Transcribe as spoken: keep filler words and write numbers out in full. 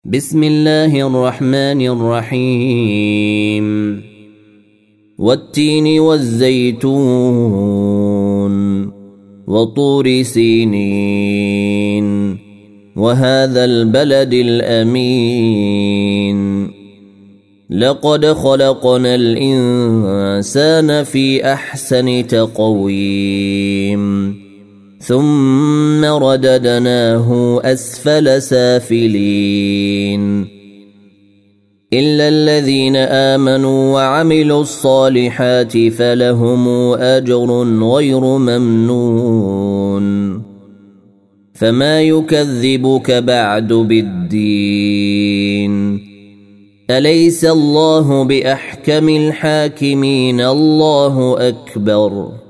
بسم الله الرحمن الرحيم والتين والزيتون وطور سينين وهذا البلد الأمين لقد خلقنا الإنسان في أحسن تقويم ثم رددناه أسفل سافلين إلا الذين آمنوا وعملوا الصالحات فلهم أجر غير ممنون فما يكذبك بعد بالدين أليس الله بأحكم الحاكمين الله أكبر